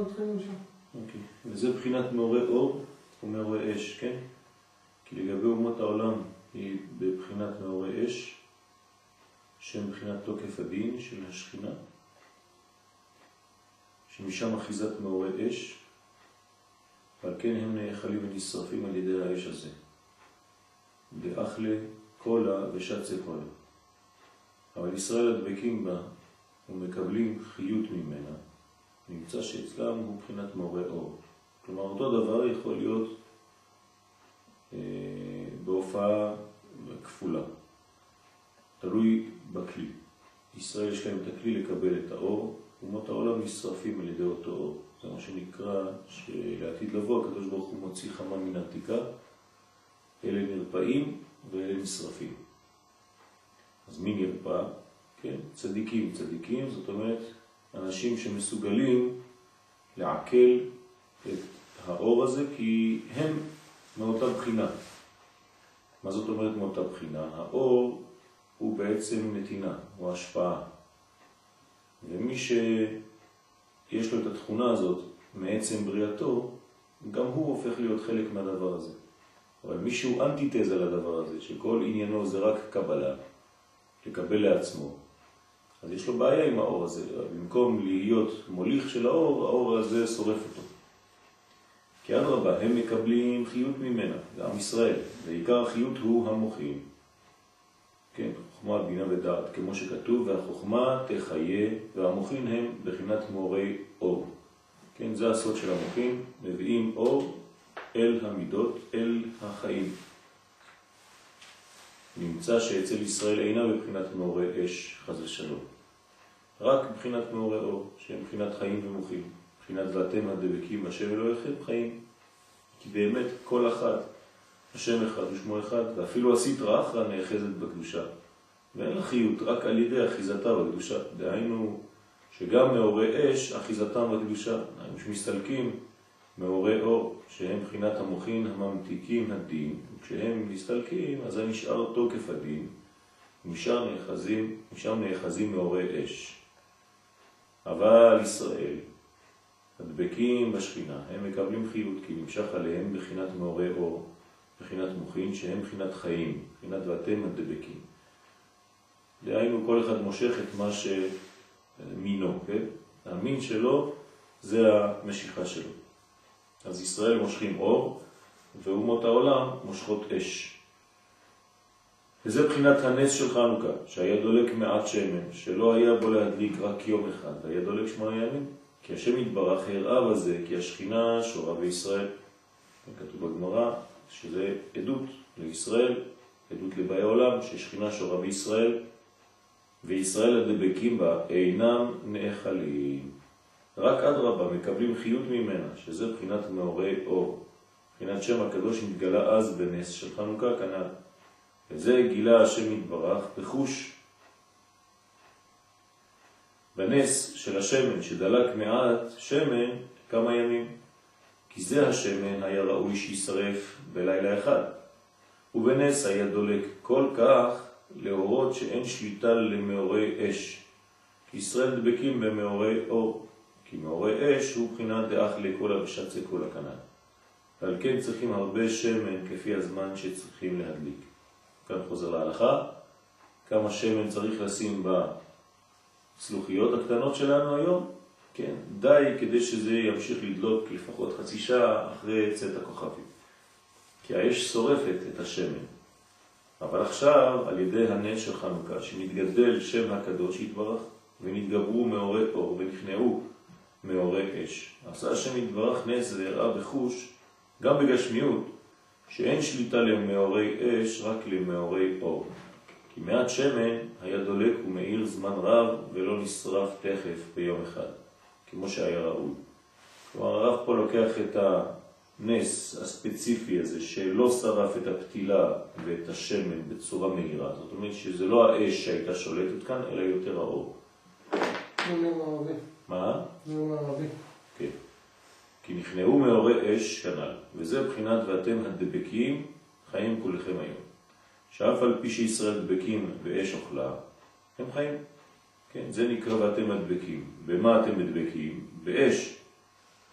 מתחילים שם. אוקיי. וזה בחינת מעוררי אור ומעוררי אש, כן? כי לגבי אומות העולם היא בבחינת מעוררי אש, שהם בחינת תוקף הדין של השכינה, שמשם אחיזת מעוררי אש, ועל כן הם נאכלים ונשרפים על ידי האש הזה. דאכלה קולה ושצה קולה. אבל ישראל הדבקים בה ומקבלים חיות ממנה, נמצא שאצלם הוא בחינת מעוררי אור. כלומר, אותו דבר יכול להיות בהופעה כפולה. תלוי בכלי. ישראל יש להם את הכלי לקבל את האור, אומות העולם נשרפים על ידי אותו אור. זה מה שנקרא שלעתיד לבוא הקדוש ברוך הוא מוציא חמה מן עתיקה, אלה נרפאים ואלה נשרפים. אז מי נרפא? כן, צדיקים. צדיקים זאת אומרת אנשים שמסוגלים לעכל את האור הזה כי הם מאותה בחינה. מה זאת אומרת מאותה בחינה? האור הוא בעצם נתינה, הוא השפעה. ומי שיש לו את התכונה הזאת מעצם בריאתו, גם הוא הופך להיות חלק מהדבר הזה. אבל מי שהוא אנטיתזה לדבר הזה, שכל עניינו זה רק קבלה, לקבל לעצמו, אז יש לו בעיה עם האור הזה. במקום להיות מוליך של האור, האור הזה שורף אותו. כי אדרבה, הם מקבלים חיות ממנה, זה עם ישראל. ועיקר החיות הוא המוחים. כן, חוכמה, בינה ודעת, כמו שכתוב, והחוכמה תחיה, והמוחים הם בחינת מעוררי אור. כן, זה הסוד של המוחים, מביאים אור אל המידות, אל החיים. נמצא שאצל ישראל אינה בבחינת מעוררי אש, חס ושלום. רק בבחינת מעוררי אור, שהם בחינת חיים ומוחים. בחינת ואתם הדבקים, השם אלוהיכם חיים. כי באמת כל אחד, השם אחד ושמו אחד, ואפילו הסטרא אחרא נאחזת בקדושה. ואין לה חיות, רק על ידי אחיזתה בקדושה. דהיינו שגם מעוררי אש, אחיזתם בקדושה. דהיינו שמסתלקים מעוררי אור, שהם בחינת המוחין הממתיקים הדין. וכשהם מסתלקים, אז זה נשאר תוקף הדין. ומשם נאחזים מעוררי אש. אבל ישראל, הדבקים בשכינה, הם מקבלים חיות, כי נמשך עליהם בחינת מעוררי אור, בחינת מוחין, שהם בחינת חיים, בחינת ואתם הדבקים. דהיינו, כל אחד מושך את מה שמינו, כן? המין שלו זה המשיכה שלו. אז ישראל מושכים אור, ואומות העולם מושכות אש. וזה בחינת הנס של חנוכה, שהיה דולק מעט שמן, שלא היה בו להדליק רק יום אחד, היה דולק 8 ימים. כי השם יתברך הראה בזה, כי השכינה שורה בישראל. כתוב בגמרא שזה עדות לישראל, עדות לבאי העולם, ששכינה שורה בישראל, וישראל הדבקים בה אינם נאכלים. רק אדרבה מקבלים חיות ממנה, שזה בחינת מעוררי אור. בחינת שם הקדוש מתגלה אז בנס של חנוכה כנ"ל. וזה גילה השם יתברך בחוש. בנס של השמן שדלק מעט שמן כמה ימים. כי זה השמן היה ראוי שישרף בלילה אחד. ובנס היה דולק כל כך להורות שאין שליטה למעוררי אש. כי ישראל דבקים במעוררי אור. כי מעוררי אש הוא בחינת דאכלה קולה ושצה קולה כנ"ל. ועל כן צריכים הרבה שמן כפי הזמן שצריכים להדליק. כאן חוזר להלכה. כמה שמן צריך לשים בצלוחיות הקטנות שלנו היום? כן, די כדי שזה ימשיך לדלוק לפחות חצי שעה אחרי צאת הכוכבים. כי האש שורפת את השמן. אבל עכשיו, על ידי הנס של חנוכה, שנתגדל שם הקדוש יתברך, ונתגברו מעוררי אור ונכנעו מעוררי אש. עשה השם יתברך נס והראה בחוש, גם בגשמיות, שאין שליטה למעוררי אש, רק למעוררי אור. כי מעט שמן היה דולק ומאיר זמן רב, ולא נשרף תכף ביום אחד, כמו שהיה ראוי. כלומר, הרב פה לוקח את הנס הספציפי הזה, שלא שרף את הפתילה ואת השמן בצורה מהירה. זאת אומרת שזה לא האש שהייתה שולטת כאן, אלא יותר האור. זה מערבי. מה? זה מערבי. כן. כי נכנעו מעוררי אש כנ"ל, וזה בחינת ואתם הדבקים חיים כולכם היום. שאף על פי שישראל דבקים באש אוכלה, הם חיים. כן, זה נקרא ואתם הדבקים. במה אתם מדבקים? באש.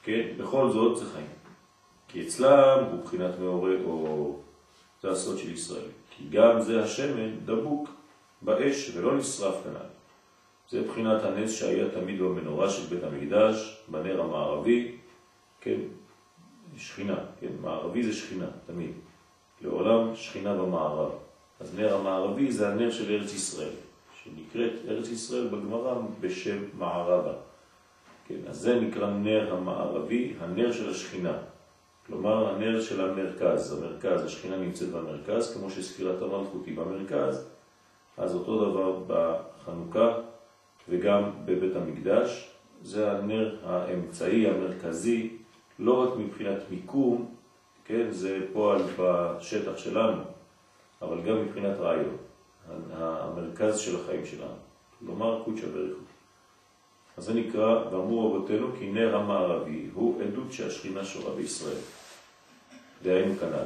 כן? בכל זאת זה חיים. כי אצלם הוא בחינת מעורר אור. זה הסוד של ישראל. כי גם זה השמן דבוק באש ולא נשרף כנ"ל. זה בחינת הנס שהיה תמיד במנורה של בית המקדש, בנר המערבי, כן? שכינה, כן? מערבי זה שכינה, תמיד. לעולם שכינה במערב. אז נר המערבי זה הנר של ארץ ישראל, שנקראת ארץ ישראל בגמרא בשם מערבה. כן, אז זה נקרא נר המערבי, הנר של השכינה. כלומר, הנר של המרכז. המרכז, השכינה נמצאת במרכז, כמו שספירת המלכות היא במרכז, אז אותו דבר בחנוכה וגם בבית המקדש. זה הנר האמצעי, המרכזי, לא רק מבחינת מיקום, כן, זה פועל בשטח שלנו, אבל גם מבחינת רעיון, המרכז של החיים שלנו. כלומר, קודשא בריך הוא. אז זה נקרא, ואמרו רבותינו, כי נר המערבי הוא עדות שהשכינה שורה בישראל. דהיינו כנ"ל.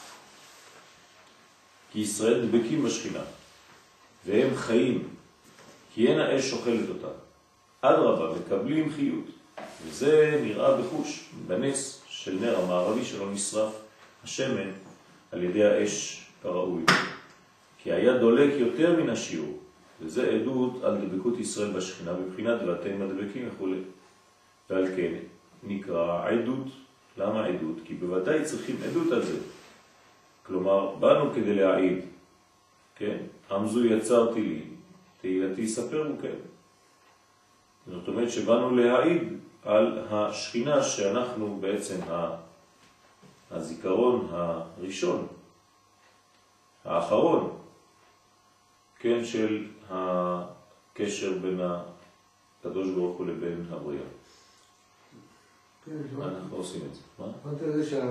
כי ישראל דבקים בשכינה, והם חיים, כי אין האש שוכלת אותה. אדרבה, מקבלים חיות. וזה נראה בחוש, בנס של נר המערבי שלא נשרף השמן על ידי האש כראוי. כי היה דולק יותר מן השיעור, וזה עדות על דבקות ישראל בשכינה בבחינת ואתם הדבקים וכו'. ועל כן נקרא עדות. למה עדות? כי בוודאי צריכים עדות על זה. כלומר, באנו כדי להעיד, כן? עמזו יצרתי לי, תהילתי ספרו, כן? זאת אומרת שבאנו להעיד על השכינה שאנחנו בעצם הזיכרון הראשון, האחרון, כן, של הקשר בין הקדוש ברוך הוא לבין הבריאה. מה אנחנו עושים את זה? מה? אמרתי לזה שזה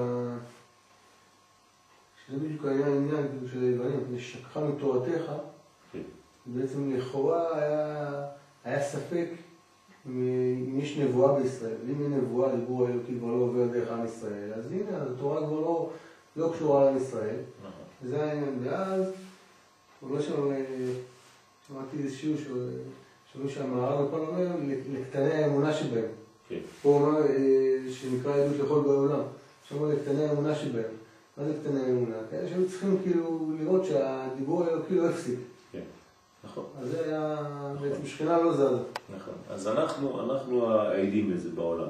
בדיוק היה העניין של היוונים, נשכחה מתורתך, בעצם לכאורה היה ספק אם יש נבואה בישראל. אם אין נבואה, דיבור האלוקי כבר לא עובר דרך עם ישראל, אז הנה, התורה כבר לא קשורה לעם ישראל. זה העניין. ואז, הוא לא שמעתי איזה שיעור שאומרים שהמערב הכל אומר לקטני האמונה שבהם. הוא אומר שנקרא עדות לכל בעולם. שאומר לקטני האמונה שבהם. מה זה קטני האמונה? כאלה שהיו צריכים כאילו לראות שהדיבור האלוקי לא הפסיק. נכון. אז זה היה, בעצם שכינה לא זזה. נכון. אז אנחנו העדים לזה בעולם.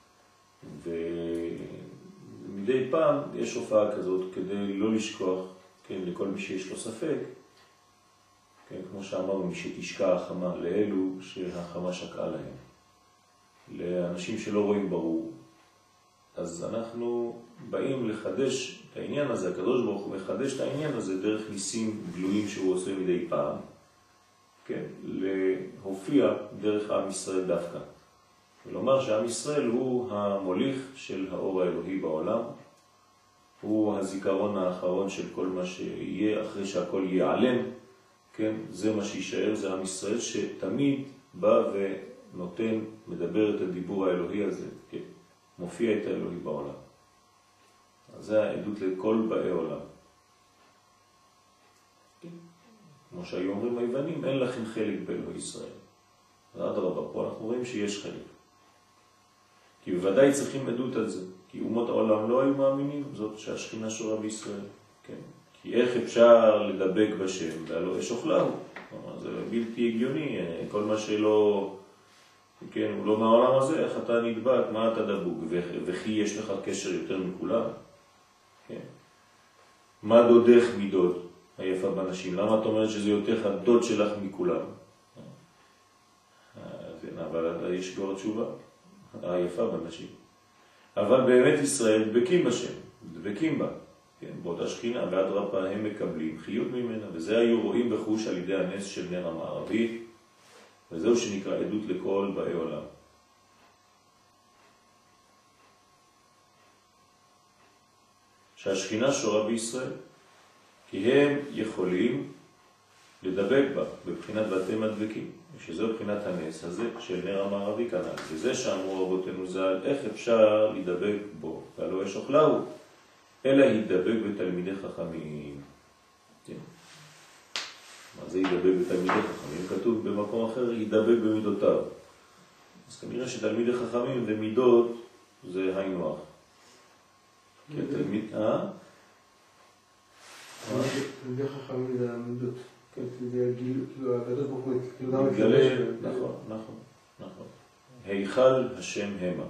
ומדי פעם יש הופעה כזאת כדי לא לשכוח, כן, לכל מי שיש לו ספק, כן, כמו שאמרנו, מי שתשקע החמה, לאלו שהחמה שקעה להם. לאנשים שלא רואים ברור. אז אנחנו באים לחדש את העניין הזה, הקדוש ברוך הוא מחדש את העניין הזה דרך ניסים גלויים שהוא עושה מדי פעם. כן, להופיע דרך עם ישראל דווקא. ולומר שעם ישראל הוא המוליך של האור האלוהי בעולם, הוא הזיכרון האחרון של כל מה שיהיה אחרי שהכל ייעלם, כן, זה מה שישאר, זה עם ישראל שתמיד בא ונותן, מדבר את הדיבור האלוהי הזה, כן, מופיע את האלוהי בעולם. אז זה העדות לכל באי עולם. כמו שהיו אומרים היוונים, אין לכם חלק באלוהי ישראל. אדרבה, פה אנחנו רואים שיש חלק. כי בוודאי צריכים עדות על זה. כי אומות העולם לא היו מאמינים, זאת שהשכינה שורה בישראל. כן? כי איך אפשר לדבק בשם, והלא אש אוכלהו. זה בלתי הגיוני, כל מה שלא, כן, הוא לא מהעולם הזה, איך אתה נדבק, מה אתה דבוק, וכי יש לך קשר יותר מכולם. כן? מה דודך מדוד? היפה בנשים. למה את אומרת שזה יותר הדוד שלך מכולם? אבל יש גור התשובה. היפה בנשים. אבל באמת ישראל דבקים בשם, דבקים בה. כן, באותה שכינה, ואדרבה הם מקבלים חיות ממנה, וזה היו רואים בחוש על ידי הנס של נר המערבי, וזהו שנקרא עדות לכל באי עולם. שהשכינה שורה בישראל. כי הם יכולים לדבק בה בבחינת ואתם הדבקים, שזו בחינת הנס הזה של נר המערבי כנ"ל. וזה שאמרו רבותינו ז"ל, איך אפשר לדבק בו, והלא יש אוכלהו, אלא ידבק בתלמידי חכמים. כן. מה זה ידבק בתלמידי חכמים? כתוב במקום אחר, ידבק במידותיו. אז כנראה שתלמידי חכמים ומידות זה היינו הך. כי התלמיד, תלמידי חכמים זה המידות. זה כאילו הקדוש ברוך הוא, כאילו גם מתגלה, נכון. היכל השם המה.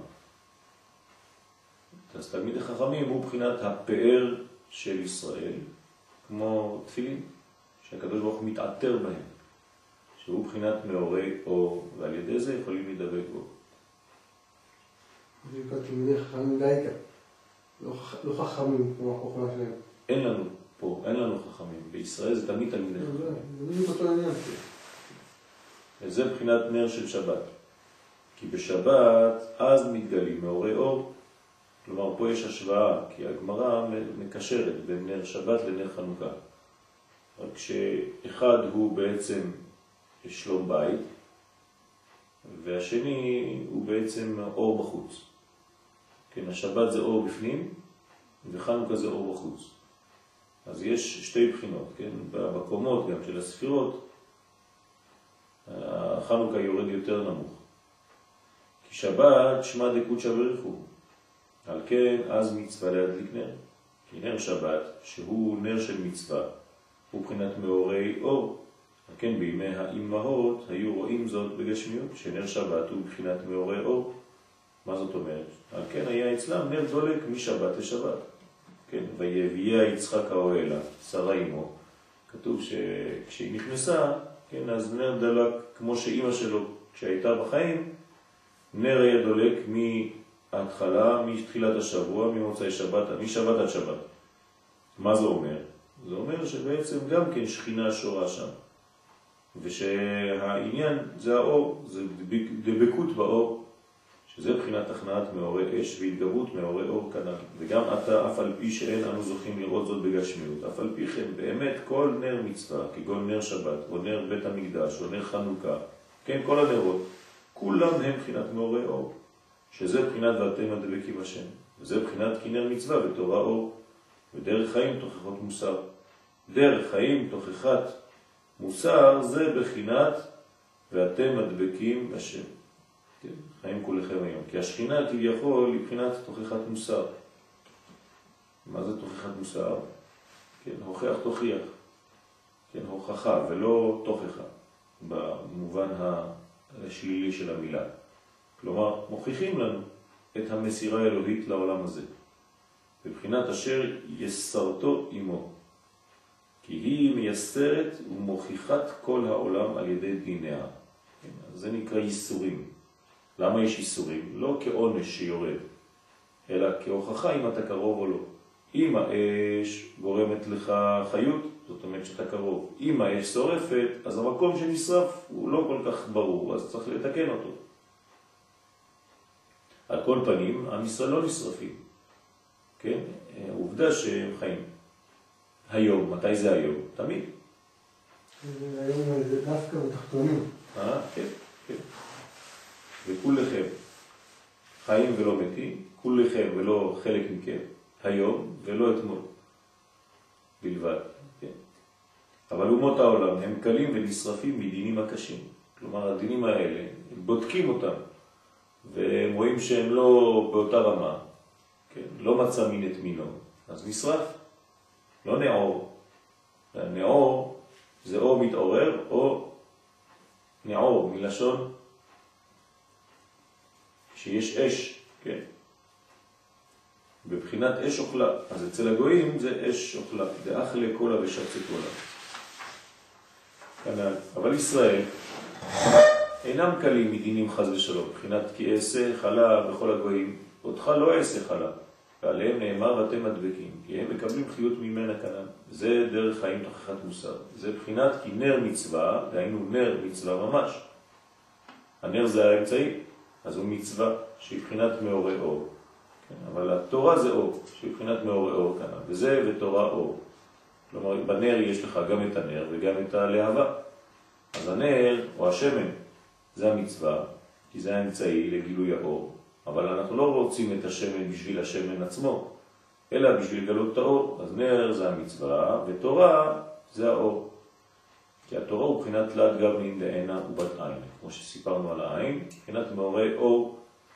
אז תלמידי חכמים הוא בחינת הפאר של ישראל, כמו תפילין, שהקדוש ברוך הוא מתעטר בהם, שהוא בחינת מאורי אור, ועל ידי זה יכולים להידבק בו. זה נקרא תלמידי חכמים דייקה, לא חכמים כמו החוכמה שלהם. אין לנו פה, אין לנו חכמים. בישראל זה תמיד תלמידי חכמים. זה בדיוק אותו עניין. וזה בחינת נר של שבת. כי בשבת אז מתגלים מאורי אור. כלומר, פה יש השוואה, כי הגמרא מקשרת בין נר שבת לנר חנוכה. רק שאחד הוא בעצם שלום בית, והשני הוא בעצם אור בחוץ. כן, השבת זה אור בפנים, וחנוכה זה אור בחוץ. אז יש שתי בחינות, כן? בקומות גם של הספירות, החנוכה יורד יותר נמוך. כי שבת שמע דקודשא בריחו. על כן, אז מצווה להדליק נר. כי נר שבת, שהוא נר של מצווה, הוא בחינת מאורי אור. על כן, בימי האימהות היו רואים זאת בגשמיות, שנר שבת הוא בחינת מאורי אור. מה זאת אומרת? על כן היה אצלם נר דולק משבת לשבת. כן, ויביאה יצחק האוהלה, שרה אמו. כתוב שכשהיא נכנסה, כן, אז נר דלק כמו שאימא שלו, כשהייתה בחיים, נר היה דולק מההתחלה, מתחילת השבוע, ממוצאי שבת, משבת עד שבת. מה זה אומר? זה אומר שבעצם גם כן שכינה שורה שם. ושהעניין זה האור, זה דבקות באור, שזה בחינת הכנעת מאורי אש והתגברות מאורי אור כנ"ל. וגם אתה, אף על פי שאין אנו זוכים לראות זאת בגשמיות, אף על פי כן באמת כל נר מצווה, כגון נר שבת, או נר בית המקדש, או נר חנוכה, כן, כל הנרות, כולם הם בחינת מאורי אור, שזה בחינת ואתם הדבקים השם. וזה בחינת כי נר מצווה ותורה אור, ודרך חיים תוכחות מוסר. דרך חיים תוכחת מוסר זה בחינת ואתם הדבקים השם. כן, חיים כולכם היום. כי השכינה כביכול היא בחינת תוכחת מוסר. מה זה תוכחת מוסר? כן, הוכח תוכיח. כן, הוכחה ולא תוכחה, במובן השלילי של המילה. כלומר, מוכיחים לנו את המסירה האלוהית לעולם הזה. בבחינת אשר יסרתו עמו. כי היא מייסרת ומוכיחת כל העולם על ידי דיניה. כן, זה נקרא ייסורים. למה יש איסורים? לא כעונש שיורד, אלא כהוכחה אם אתה קרוב או לא. אם האש גורמת לך חיות, זאת אומרת שאתה קרוב. אם האש שורפת, אז המקום שנשרף הוא לא כל כך ברור, אז צריך לתקן אותו. על כל פנים, עם ישראל לא נשרפים. כן? עובדה שהם חיים. היום, מתי זה היום? תמיד. היום זה דווקא בתחתונים. כן, כן. וכולכם חיים ולא מתים, כולכם ולא חלק מכם, היום ולא אתמול בלבד. כן? אבל אומות העולם הם קלים ונשרפים מדינים הקשים. כלומר, הדינים האלה, הם בודקים אותם, והם רואים שהם לא באותה רמה, כן? לא מצא מין את מינו, אז נשרף, לא נעור. נעור זה או מתעורר או נעור, מלשון שיש אש, כן? בבחינת אש אוכלה. אז אצל הגויים זה אש אוכלה, דאכלה קולה ושצה קולה. כנ"ל. אבל ישראל אינם קלים מדינים חס ושלום, בבחינת כי אעשה חלה בכל הגויים, אותך לא אעשה חלה, ועליהם נאמר ואתם מדבקים, כי הם מקבלים חיות ממנה כנ"ל. זה דרך חיים תוכחת מוסר. זה בחינת כי נר מצווה, דהיינו נר מצווה ממש. הנר זה האמצעי. אז הוא מצווה שהיא בחינת מאורי אור. כן? אבל התורה זה אור, שהיא בחינת מאורי אור כאן. וזה ותורה אור. כלומר, בנר יש לך גם את הנר וגם את הלהבה. אז הנר או השמן זה המצווה, כי זה האמצעי לגילוי האור. אבל אנחנו לא רוצים את השמן בשביל השמן עצמו, אלא בשביל לגלות את האור. אז נר זה המצווה, ותורה זה האור. כי התורה הוא בחינת תלת גבלין דעינה ובת עין, כמו שסיפרנו על העין, בחינת מאורי אור,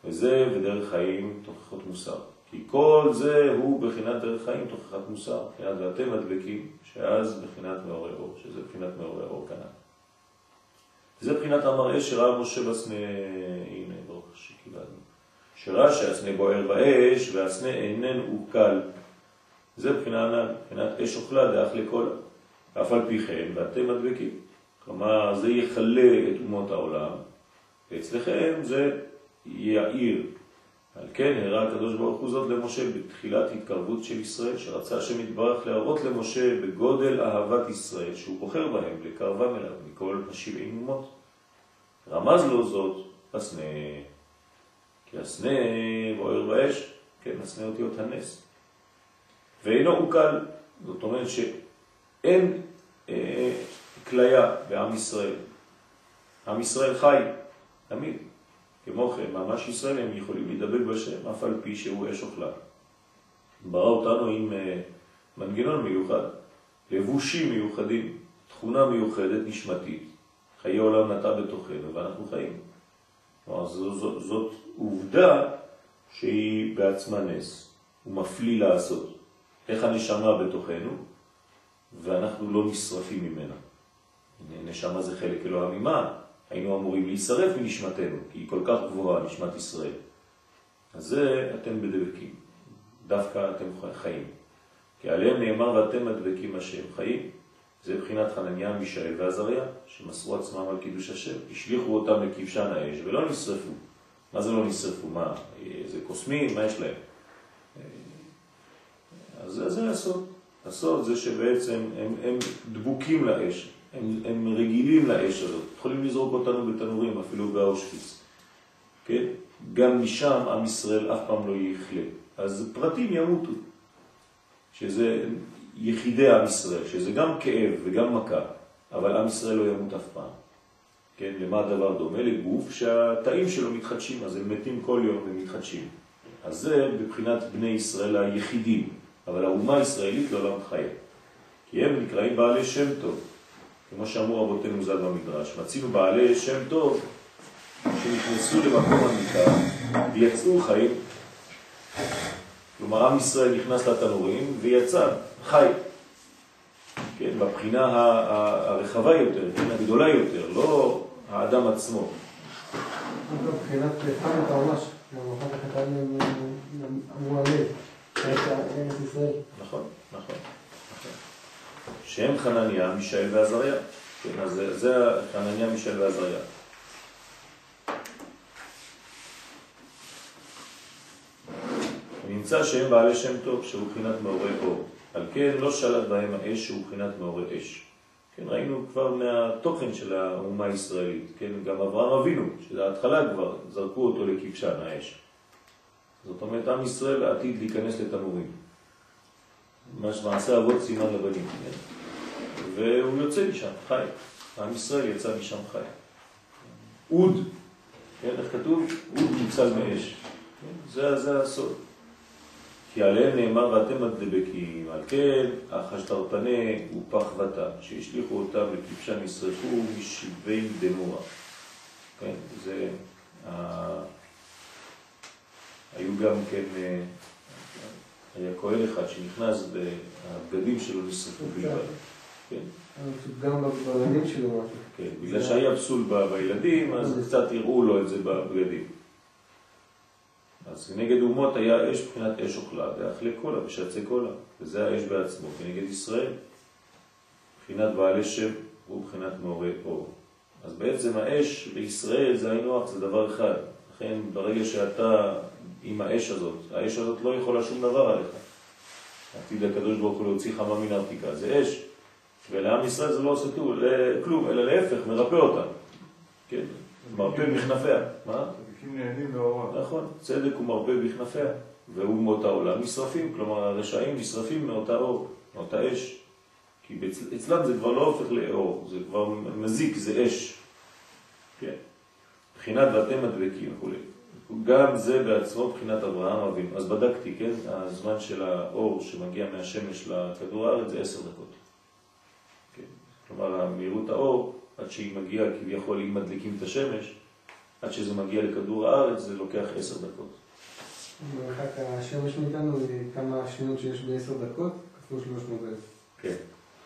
וזה ודרך חיים תוכחות מוסר. כי כל זה הוא בחינת דרך חיים תוכחת מוסר, בחינת ואתם הדבקים, שאז בחינת מאורי אור, שזה בחינת מאורי אור כאן. זה בחינת המראה שראה משה בסנה, הנה ברוך שקיבלנו, שראה שהסנה בוער באש והסנה אינן וקל. זה בחינת אש אוכלה דאך לכל, אף על פי כן ואתם הדבקים. כלומר זה יחלה את אומות העולם, ואצלכם זה יעיר. על כן הראה הקדוש ברוך הוא זאת למשה בתחילת התקרבות של ישראל, שרצה שמתברך להראות למשה בגודל אהבת ישראל שהוא בוחר בהם לקרבם אליו מכל 70 אומות. רמז לו זאת הסנה, כי הסנה בוער באש, כן, הסנה אותיות הנס, ואינו עוקל. זאת אומרת שאין כליה בעם ישראל. עם ישראל חי תמיד. כמו כן, ממש ישראל הם יכולים להידבק בשם, אף על פי שהוא אש אוכלה. ברא אותנו עם מנגנון מיוחד, לבושים מיוחדים, תכונה מיוחדת נשמתית. חיי עולם נטע בתוכנו ואנחנו חיים. זאת עובדה שהיא בעצמה נס, הוא מפליא לעשות. איך הנשמה בתוכנו ואנחנו לא נשרפים ממנה. נשמה זה חלק אלוה ממה? היינו אמורים להישרף מנשמתנו, כי היא כל כך גבוהה, נשמת ישראל. אז זה אתם בדבקים, דווקא אתם חיים. כי עליהם נאמר ואתם הדבקים השם חיים. זה בחינת חנניה, מישאל ועזריה, שמסרו עצמם על קידוש השם, השליחו אותם לכבשן האש ולא נשרפו. מה זה לא נשרפו? מה? זה קוסמים? מה יש להם? אז זה הסוד. הסוד זה שבעצם הם דבוקים לאש. הם רגילים לאש הזאת, יכולים לזרוק אותנו בתנורים, אפילו באושוויץ. כן? גם משם עם ישראל אף פעם לא יחלה. אז פרטים ימותו, שזה יחידי עם ישראל, שזה גם כאב וגם מכה, אבל עם ישראל לא ימות אף פעם. כן? למה הדבר דומה? לגוף שהתאים שלו מתחדשים, אז הם מתים כל יום ומתחדשים. אז זה בבחינת בני ישראל היחידים, אבל האומה הישראלית לעולם חיה. כי הם נקראים בעלי שם טוב. כמו שאמרו רבותינו ז"ל במדרש, מצינו בעלי שם טוב שנכנסו למקום המיטה ויצאו חיים. כלומר, עם ישראל נכנס לתנורים ויצא חי. כן, בבחינה הרחבה יותר, כן, הגדולה יותר, לא האדם עצמו. בבחינת חמת העונש, גם אחר כך אמרו הלב, ארץ ישראל. נכון, נכון. שהם חנניה, מישאל ועזריה. כן, אז זה חנניה, מישאל ועזריה. נמצא שהם בעלי שם טוב, שהוא בחינת מאורי אור. על כן לא שלט בהם האש שהוא בחינת מאורי אש. כן, ראינו כבר מהתוכן של האומה הישראלית. כן, גם אברהם אבינו, שזה ההתחלה כבר, זרקו אותו לכבשן האש. זאת אומרת, עם ישראל עתיד להיכנס לתנורים. מעשה אבות סימן לבנים. כן? והוא יוצא משם, חי. עם ישראל יצא משם חי. אוד, כן, איך כתוב? אוד ניצל מאש. כן? זה הסוד. כי עליהם נאמר ואתם הדבקים, על כן החשתרפני ופח וטה, שהשליחו אותם לכבשן ישרפו משבי דמוע. כן, זה היו גם כן, היה כהן אחד שנכנס והבגדים שלו נשרפו בלבד. כן. גם בבגדים שלו משהו. כן, בגלל שהיה פסול בילדים, אז קצת הראו לו את זה בבגדים. אז נגד אומות היה אש בחינת אש אוכלה, ואכלה קולה ושצה קולה, וזה האש בעצמו, כנגד ישראל. בחינת בעלי שם הוא בחינת מאורי אור. אז בעצם האש בישראל זה היינו, זה דבר אחד. לכן ברגע שאתה עם האש הזאת לא יכולה שום דבר עליך. עתיד הקדוש ברוך הוא להוציא חמה מן הארתיקה, זה אש. ולעם ישראל זה לא עושה כלום, אלא להפך, מרפא אותם. כן, מרפא בכנפיה. מה? צדיקים נהנים מאורם. נכון, צדק הוא מרפא בכנפיה, ואומות העולם נשרפים, כלומר הרשעים נשרפים מאותה אור, מאותה אש. כי אצלם זה כבר לא הופך לאור, זה כבר מזיק, זה אש. כן. בחינת ואתם הדבקים וכו'. גם זה בעצמו בחינת אברהם אבינו. אז בדקתי, כן, הזמן של האור שמגיע מהשמש לכדור הארץ זה 10 דקות. כן. כלומר, מהירות האור, עד שהיא מגיעה כביכול, אם מדליקים את השמש, עד שזה מגיע לכדור הארץ זה לוקח 10 דקות. מרחק השמש מאיתנו כמה שניות שיש ב10 דקות, כפול 300,000. כן.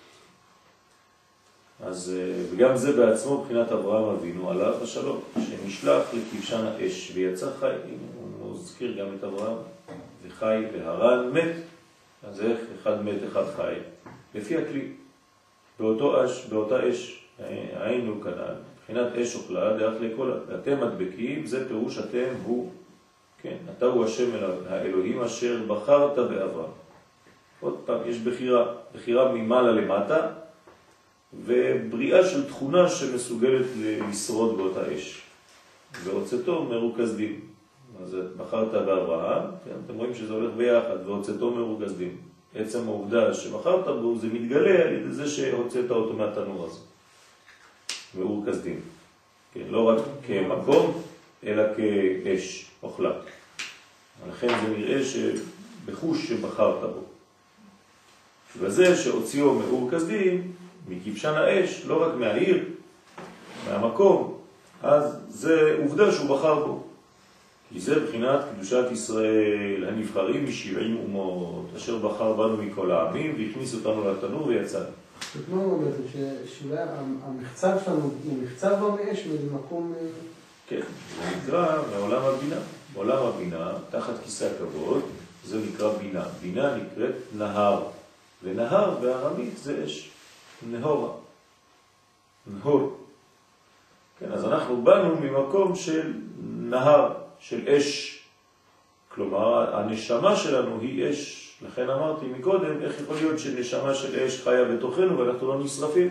אז וגם זה בעצמו מבחינת אברהם אבינו עליו השלום, שנשלח לכבשן האש ויצא חי. הוא מזכיר גם את אברהם, וחי והרן מת. אז איך אחד מת אחד חי? לפי הכלי. באותה אש היינו כנען, מבחינת אש אוכלה דרך לכל. אתם מדבקים, זה פירוש אתם הוא, כן, אתה הוא השם האלוהים אשר בחרת באברהם. עוד פעם, יש בחירה ממעלה למטה, ובריאה של תכונה שמסוגלת לשרוד באותה אש. והוצאתו מרוכז דין. אז בחרת באברהם, כן, אתם רואים שזה הולך ביחד, והוצאתו מרוכז דין. עצם העובדה שבחרת בו, זה מתגלה על ידי זה שהוצאת אותו מהתנור הזה. מרוכז דין. כן, לא רק כמקום, אלא כאש אוכלה. לכן זה נראה שבחוש שבחרת בו. ובזה שהוציאו מרוכז דין, מכבשן האש, לא רק מהעיר, מהמקום, אז זה עובדה שהוא בחר בו. כי זה בחינת קדושת ישראל, הנבחרים מ70 אומות, אשר בחר בנו מכל העמים, והכניס אותנו לתנור ויצא. זאת אומרת בעצם שאולי המחצב שלנו הוא מחצב במאש באיזה מקום... כן, זה נקרא מעולם הבינה. בעולם הבינה, תחת כיסא הכבוד, זה נקרא בינה. בינה נקראת נהר, ונהר בארמית זה אש. נהורה. נהור. כן, אז אנחנו באנו ממקום של נהר, של אש. כלומר, הנשמה שלנו היא אש. לכן אמרתי מקודם, איך יכול להיות שנשמה של אש חיה בתוכנו ואנחנו לא נשרפים?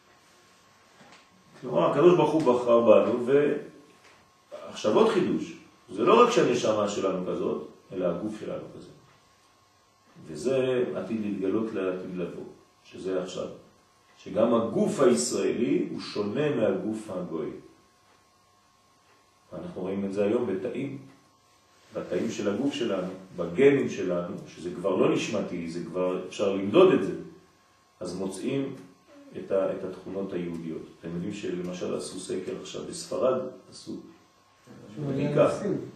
כלומר, הקדוש ברוך הוא בחר בנו, ועכשיו עוד חידוש. זה לא רק שהנשמה שלנו כזאת, אלא הגוף שלנו כזה. וזה עתיד להתגלות לעתיד לבוא, שזה עכשיו. שגם הגוף הישראלי הוא שונה מהגוף הגוי. אנחנו רואים את זה היום בתאים של הגוף שלנו, בגנים שלנו, שזה כבר לא נשמתי, זה כבר אפשר למדוד את זה. אז מוצאים את התכונות היהודיות. אתם יודעים שלמשל עשו סקר עכשיו בספרד, עשו בדיקה.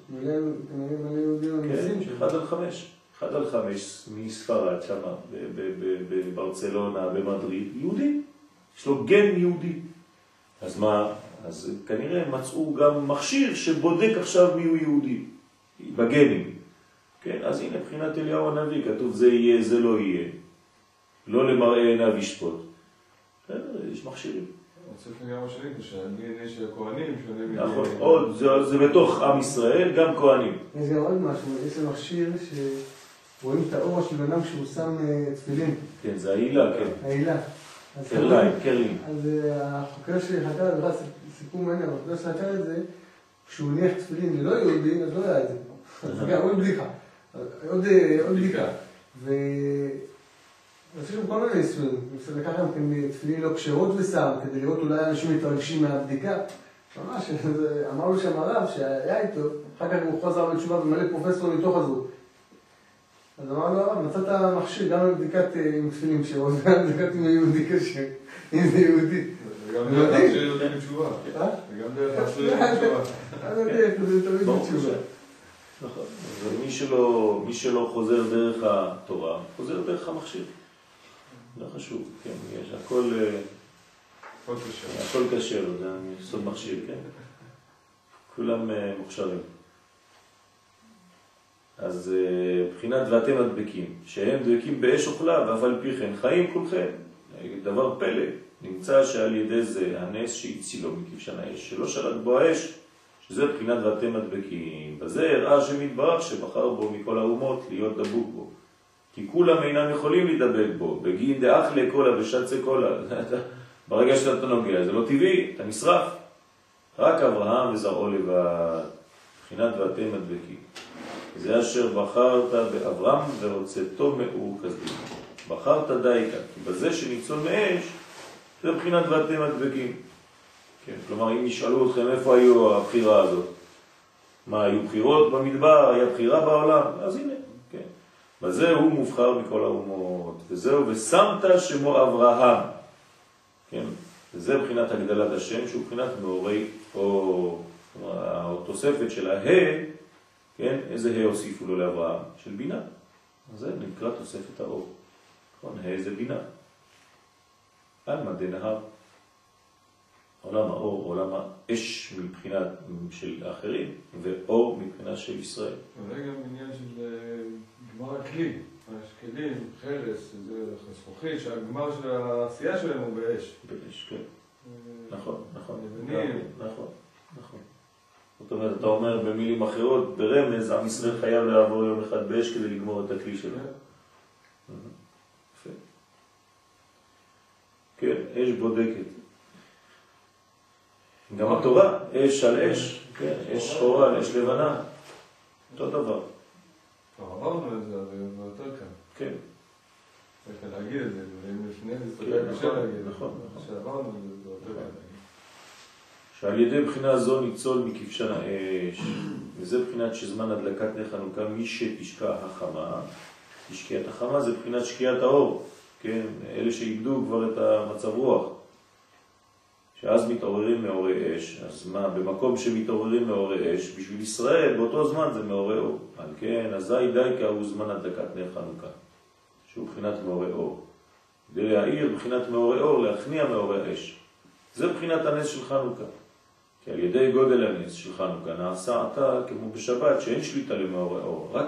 כן, 1/5 מספרד שם, בברצלונה, במדריד, יהודי. יש לו גן יהודי. אז מה? אז כנראה מצאו גם מכשיר שבודק עכשיו מי הוא יהודי, בגנים. כן, אז הנה, מבחינת אליהו הנביא, כתוב זה יהיה, זה לא יהיה. לא למראה עיניו ישפוט. יש מכשירים. צריך גם משלים, שהדנ"א של הכהנים שונה נכון, עוד, זה בתוך עם ישראל, גם כהנים. יש גם עוד משהו, יש לו מכשיר שרואים את האור של בנם כשהוא שם תפילין. כן, זה העילה, כן. העילה. קרלין. אז החוקר שחקר את זה, סיכום מעניין, החוקר שחקר את זה, כשהוא הניח תפילין ללא יהודי, אז לא היה את זה. אז גם עוד בדיחה. עוד בדיחה. אז יש גם כל מיני ניסויים. לקח גם תפילין לא כשרות ושם, כדי לראות אולי אנשים מתרגשים מהבדיקה. ממש, אמרנו שם הרב שהיה איתו, אחר כך הוא חוזר בתשובה ומלא פרופסור מתוך הזו. אז אמרנו הרב, מצאת מכשיר גם לבדיקת עם תפילין כשרות, גם לבדיקת עם יהודי קשה, אם זה יהודי. וגם דרך להחזיר יודעים בתשובה. וגם דרך להחזיר יודעים בתשובה. אני יודע, זה תמיד בתשובה. נכון. ומי שלא חוזר דרך התורה, חוזר דרך המכשיר. לא חשוב, כן, יש הכל קשר, זה סוד מכשיר, כן. כולם מוכשרים. אז בחינת ואתם הדבקים, שהם דבקים באש אוכלה, ואף על פי כן חיים כולכם. דבר פלא, נמצא שעל ידי זה הנס שהצילו מכבשן האש, שלא שלט בו האש, שזה בחינת ואתם הדבקים. בזה הראה שמתברך שבחר בו מכל האומות להיות דבוק בו. כי כולם אינם יכולים להידבק בו, בגין דאח לקולה ושצה קולה. ברגע שאתה נוגע, זה לא טבעי, אתה נשרף. רק אברהם וזרעו לבד, בחינת ואתם מדבקים. זה אשר בחרת באברהם והוצאתו מאור כסדים. בחרת דייקה, כי בזה שניצול מאש, זה בחינת ואתם מדבקים. כן, כלומר, אם ישאלו אתכם איפה היו הבחירה הזאת, מה, היו בחירות במדבר, היה בחירה בעולם, אז הנה, כן. בזה הוא מובחר מכל האומות, וזהו, ושמת שמו אברהם, כן, וזה בחינת הגדלת השם, שהוא בחינת מאורי אור, התוספת של הה, כן, איזה ה' הוסיפו לו לאברהם? של בינה. אז זה נקרא תוספת האור. נכון, ה' זה בינה. על מדי נהר. עולם האור, עולם האש מבחינת של האחרים, ואור מבחינה של ישראל. אולי גם עניין של גמר הכלי. יש כלים, חרס, זכוכית, שהגמר של העשייה שלהם הוא באש. באש, כן. נכון, נכון. לבנים. נכון, נכון. זאת אומרת, אתה אומר במילים אחרות, ברמז, עם ישראל חייב לעבור יום אחד באש כדי לגמור את הכלי שלו. יפה. כן, אש בודקת. גם התורה, אש על אש, כן, אש שחורה על אש לבנה. אותו דבר. עברנו את זה, אבל זה יותר כאן. כן. צריך להגיד את זה, ואם לפני זה, כן, קשה להגיד. נכון. שעברנו את זה, זה יותר כאן. שעל ידי בחינה זו ניצול מכבשן האש, וזה בחינת שזמן הדלקת נר חנוכה, מי שתשקע החמה, תשקיעת החמה זה בחינת שקיעת האור, כן, אלה שאיבדו כבר את המצב רוח, שאז מתעוררים מאורי אש. אז מה, במקום שמתעוררים מאורי אש, בשביל ישראל באותו זמן זה מאורי אור, על כן, אזי דייקה הוא זמן הדלקת נר חנוכה, שהוא בחינת מאורי אור, כדי להאיר בחינת מאורי אור, להכניע מאורי אש, זה בחינת הנס של חנוכה. כי על ידי גודל הנס של חנוכה נעשה עתה כמו בשבת שאין שליטה למאורי אור, רק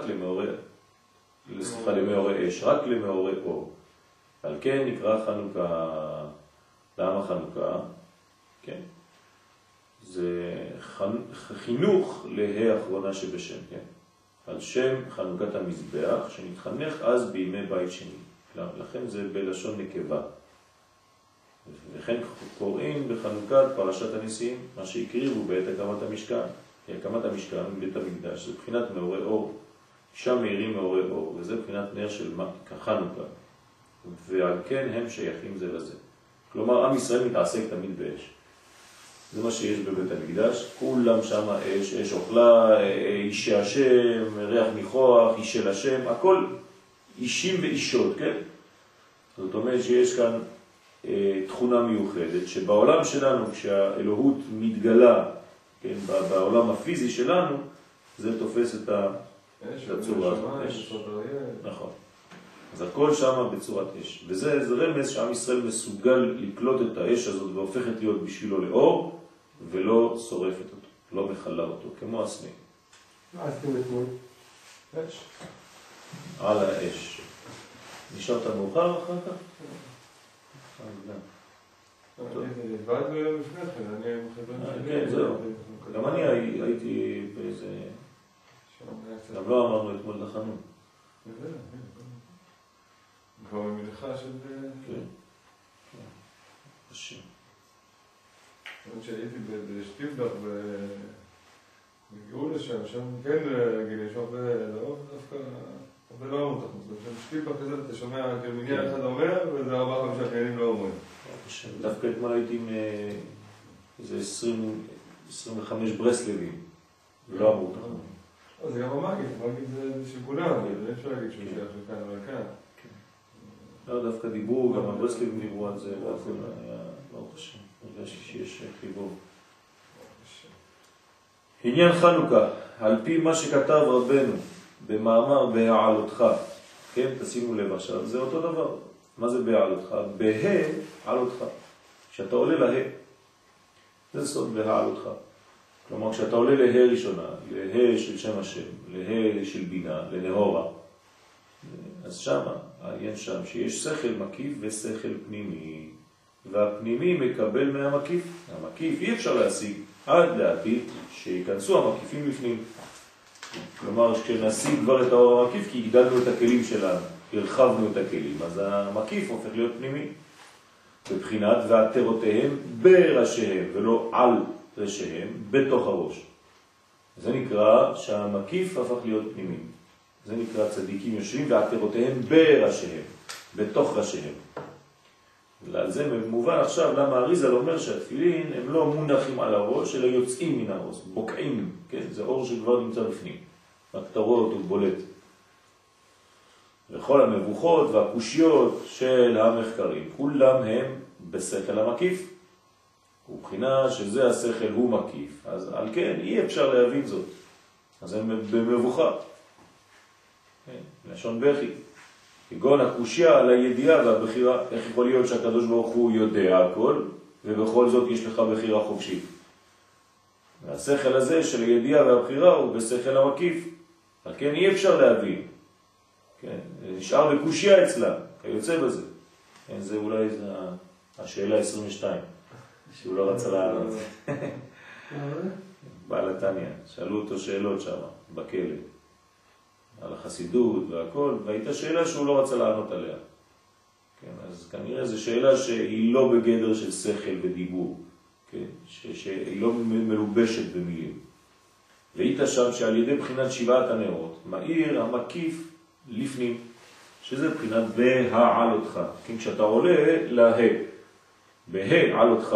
למאורי אש, רק למאורי אור. על כן נקרא חנוכה. למה חנוכה? כן. זה חינוך להא אחרונה שבשם, כן. על שם חנוכת המזבח שנתחנך אז בימי בית שני. לכן זה בלשון נקבה. וכן קוראים בחנוכת פרשת הניסים, מה שהקריבו בעת הקמת המשכן. הקמת המשכן בית המקדש, זה בחינת מאורי אור, שם מאירים מאורי אור, וזה בחינת נר של חנוכה. ועל כן הם שייכים זה לזה. כלומר, עם ישראל מתעסק תמיד באש. זה מה שיש בבית המקדש, כולם שם אש, אש אוכלה, אישי השם, ריח ניחוח, איש של השם, הכל אישים ואישות, כן? זאת אומרת שיש כאן תכונה מיוחדת, שבעולם שלנו, כשהאלוהות מתגלה, כן, בעולם הפיזי שלנו, זה תופס את הצורה הזאת. נכון. אז הכל שם בצורת אש. וזה רמז שעם ישראל מסוגל לקלוט את האש הזאת והופכת להיות בשבילו לאור, ולא שורפת אותו, לא מחלה אותו, כמו הסנה. מה עשיתם אתמול? אש. על האש. נשארת מאוחר אחר כך? ועד לפני כן, אני מחבר שלי. כן, זהו. גם אני הייתי באיזה... גם לא אמרנו אתמול לחנון. כבר במלאכה של... כן. קשה. אני שהייתי בשטיבלך והגיעו לשם, שם כן להגיד, יש הרבה דווקא, הרבה לא אמרו תחמוס. בשטיבלך כזה אתה שומע כמניין אחד אומר, וזה 4-5 חיילים לא אומרים. דווקא אתמול הייתי עם איזה 25 ברסלבים, ולא אמרו תחמוס. זה גם המגיד זה של כולם, אי אפשר להגיד שהוא שייך לכאן או לכאן. לא, דווקא דיברו, גם הברסלבים דיברו על זה, והכל היה ברוך השם, הרגשתי שיש חיבור. עניין חנוכה, על פי מה שכתב רבנו במאמר בהעלותך, כן, תשימו לב עכשיו, זה אותו דבר. מה זה בהעלותך? בהעלותך, כשאתה עולה לה, זה סוד בהעלותך. כלומר, כשאתה עולה לה ראשונה, לה של שם השם, לה של בינה, לנהורה, אז שמה, העניין שם שיש שכל מקיף ושכל פנימי, והפנימי מקבל מהמקיף. המקיף אי אפשר להשיג עד לעתיד שיכנסו המקיפים לפנים. כלומר, כשנשיג כבר את האור המקיף, כי הגדלנו את הכלים שלנו, הרחבנו את הכלים, אז המקיף הופך להיות פנימי. בבחינת ועטרותיהם בראשיהם, ולא על ראשיהם, בתוך הראש. זה נקרא שהמקיף הפך להיות פנימי. זה נקרא צדיקים יושבים ועטרותיהם בראשיהם, בתוך ראשיהם. ועל זה מובן עכשיו למה אריזל אומר שהתפילין הם לא מונחים על הראש, אלא יוצאים מן הראש, בוקעים, כן? זה אור שכבר נמצא בפנים. הכתרות הוא בולט. וכל המבוכות והקושיות של המחקרים, כולם הם בשכל המקיף. ובחינה שזה השכל הוא מקיף, אז על כן אי אפשר להבין זאת. אז הם במבוכה. לשון בכי. כגון הקושיה על הידיעה והבחירה. איך יכול להיות שהקדוש ברוך הוא יודע הכל, ובכל זאת יש לך בחירה חופשית? והשכל הזה של הידיעה והבחירה הוא בשכל המקיף. על כן אי אפשר להבין. כן? נשאר בקושיה אצלה, כיוצא בזה. כן, זה אולי השאלה 22, שהוא לא רצה לענות. בעל התניא, שאלו אותו שאלות שם, בכלא, על החסידות והכל, והייתה שאלה שהוא לא רצה לענות עליה. כן, אז כנראה זו שאלה שהיא לא בגדר של שכל ודיבור, כן, שהיא לא מלובשת במילים. והיית שם שעל ידי בחינת שבעת הנרות, מאיר המקיף לפנים, שזה בחינת בהעל אותך. כן, כשאתה עולה לה, בהעל אותך.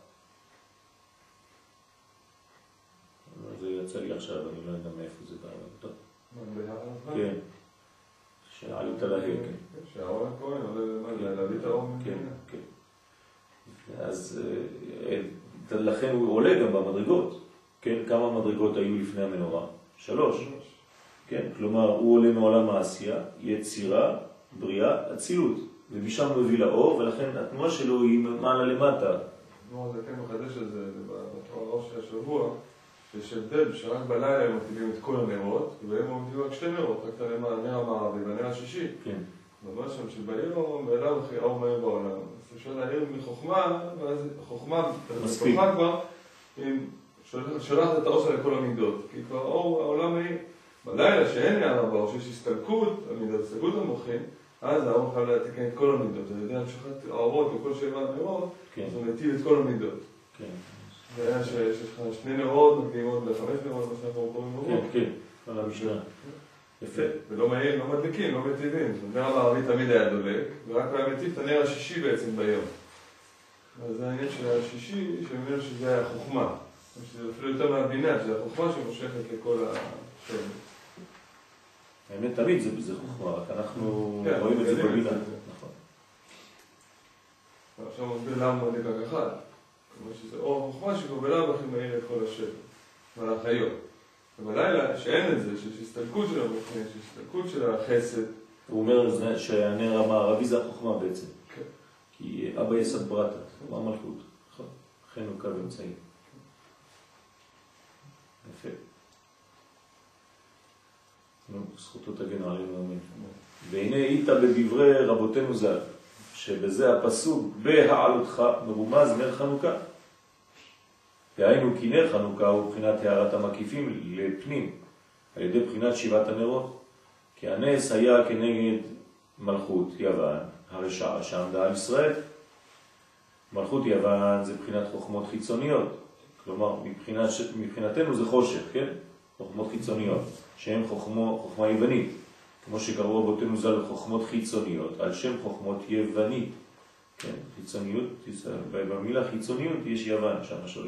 זה יצא לי עכשיו, אני לא יודע מאיפה זה בא. טוב. כן. שעלית לה, כן. שהאור הכהן עולה להביא את האור. כן, כן. אז לכן הוא עולה גם במדרגות. כן, כמה מדרגות היו לפני המנורה? 3. כן, כלומר, הוא עולה מעולם העשייה, יצירה, בריאה, אצילות. ומשם הוא מביא לאור, ולכן התנועה שלו היא מעלה למטה. זה כן מחדש את זה, בתורה הראש של השבוע, שיש הבדל שרק בלילה הם מטילים את כל הנרות, והם עומדים רק 2 נרות, רק את הנר המערבי והנר השישי. כן. ממש שם שביום, ואליו הכי האור מהיר בעולם. אז אפשר להעיר מחוכמה, ואז חוכמה, מספיק. כבר, שולחת את האור שלה לכל המידות. כי כבר האור, העולם היא, בלילה שאין נערה באור, שיש הסתלקות, המידות, הסתלקות המוחים, אז האור חייב להתקן את כל המידות. על ידי המשכת האורות וכל 7 נרות, אז הוא מטיל את כל המידות. כן. זה היה שיש לך 2 נרות, נותנים עוד ל5 נרות, מה שאנחנו קוראים נרות. כן, כן, על המשנה. יפה. ולא מהיר, לא מדליקים, לא מטיבים. הנר המערבי תמיד היה דולק, ורק היה מטיב את הנר השישי בעצם ביום. אז זה העניין של השישי, שאומר שזה היה חוכמה. שזה אפילו יותר מהבינה, שזה החוכמה שמושכת לכל השם. האמת תמיד זה חוכמה, רק אנחנו רואים את זה בבינה. נכון. עכשיו מסביר למה מדליק רק אחד. כלומר שזה אור חוכמה שגובלה בכי מהיר את כל השם. ועל החיות. ובלילה שאין את זה, שיש הסתלקות של המוכנים, שיש הסתלקות של החסד. הוא אומר שהנר המערבי זה החוכמה בעצם. כן. כי אבא יסד ברטה, הוא המלכות. נכון. לכן הוא קו אמצעי. יפה. זכותו תגן עלינו אמן. והנה היית בדברי רבותינו ז"ל, שבזה הפסוק בהעלותך מרומז נר חנוכה. דהיינו כי נר חנוכה הוא בחינת הערת המקיפים לפנים, על ידי בחינת 7 הנרות. כי הנס היה כנגד מלכות יוון, הרשעה שעמדה על ישראל. מלכות יוון זה בחינת חוכמות חיצוניות, כלומר מבחינתנו זה חושך, כן? חוכמות חיצוניות, שהן חוכמה יוונית, כמו שקראו רבותינו ז"ל חוכמות חיצוניות, על שם חוכמות יוונית. כן, חיצוניות, במילה חיצוניות יש יוון שם שולט.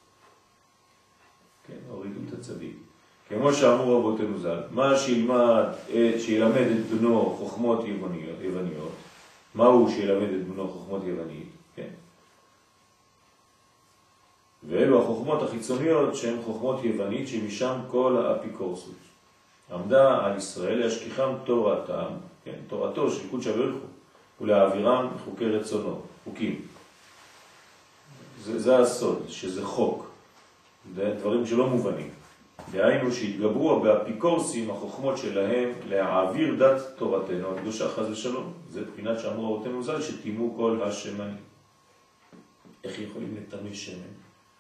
כן, הורידו את הצדיק. כמו שאמרו רבותינו ז"ל, מה שילמד את בנו חוכמות יווניות, מהו שילמד את בנו חוכמות יוונית, כן? ואלו החוכמות החיצוניות שהן חוכמות יוונית שמשם כל האפיקורסות. עמדה על ישראל להשכיחם תורתם, כן, תורתו של קודש הבריך הוא, ולהעבירם חוקי רצונו, חוקים. זה הסוד, שזה חוק. זה דברים שלא מובנים. דהיינו שהתגברו באפיקורסים החוכמות שלהם להעביר דת תורתנו הקדושה חס ושלום. זה בחינת שאמרו רבותינו ז"ל שתימו כל השמנים. איך יכולים לטמא שמן?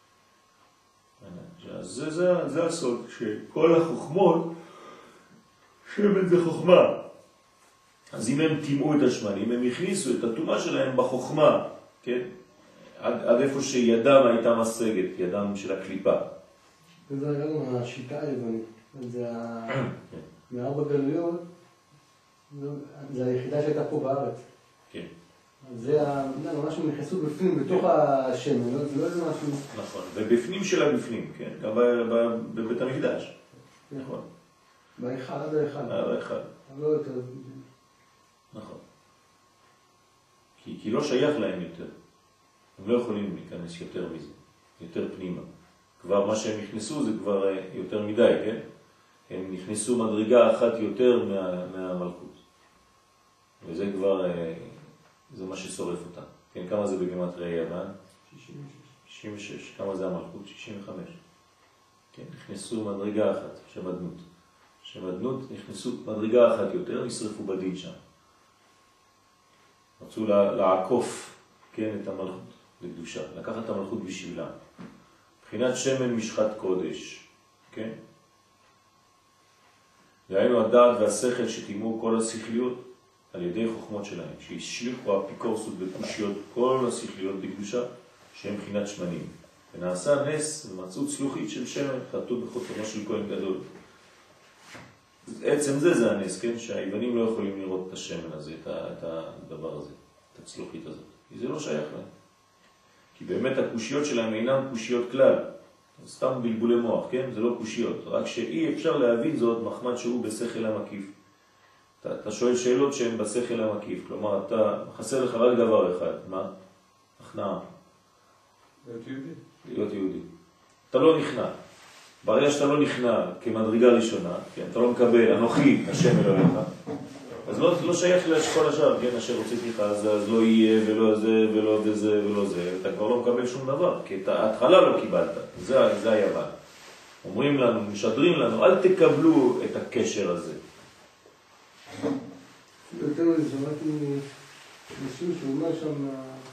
זה הסוד, שכל החוכמות, שמן זה חוכמה. אז אם הם תימו את השמנים, הם הכניסו את התאומה שלהם בחוכמה, כן? עד איפה שידם הייתה משגת, ידם של הקליפה. וזה גם השיטה היוונית. זה מארבע גלויות, זה היחידה שהייתה פה בארץ. כן. זה ממש הם נכנסו בפנים, בתוך השמן, זה לא איזה משהו... נכון, ובפנים של הבפנים, כן, גם בבית המקדש. נכון. בהיכל, עד ההיכל. עד ההיכל. לא יותר... נכון. כי לא שייך להם יותר. הם לא יכולים להיכנס יותר מזה, יותר פנימה. כבר מה שהם נכנסו זה כבר יותר מדי, כן? הם נכנסו מדרגה אחת יותר מהמלכות. וזה כבר, זה מה ששורף אותה. כן, כמה זה בגימטריה יוון? 66. כמה זה המלכות? 65. כן, נכנסו מדרגה אחת, שמדנות. שמדנות נכנסו מדרגה אחת יותר, נשרפו בדין שם. רצו לעקוף, כן, את המלכות לקדושה, לקחת את המלכות בשבילה. מבחינת שמן משחת קודש, כן? דהיינו הדעת והשכל שתימו כל השכליות על ידי חוכמות שלהם, שהשליחו אפיקורסות וקושיות כל השכליות בקדושה, שהם מבחינת שמנים. ונעשה נס ומצאות צלוחית של שמן, חטאו בחותמו של כהן גדול. עצם זה הנס, כן? שהיוונים לא יכולים לראות את השמן הזה, את הדבר הזה, את הצלוחית הזאת. כי זה לא שייך להם. כי באמת הקושיות שלהם אינם קושיות כלל. סתם בלבולי מוח, כן? זה לא קושיות. רק שאי אפשר להבין זאת מחמד שהוא בשכל המקיף. אתה שואל שאלות שהן בשכל המקיף. כלומר, אתה חסר לך רק דבר אחד. מה? הכנעה. להיות יהודי. להיות יהודי. אתה לא נכנע. ברגע שאתה לא נכנע כמדרגה ראשונה, כן? אתה לא מקבל, אנוכי, השם אלוהיך. אז לא שייך לכל השאר, כן? אשר רציתי לך, אז לא יהיה ולא זה ולא זה ולא זה. אתה כבר לא מקבל שום דבר, כי את ההתחלה לא קיבלת. זה היוון. אומרים לנו, משדרים לנו, אל תקבלו את הקשר הזה. יותר מזה, שמעתי מישהו שהוא אומר שם,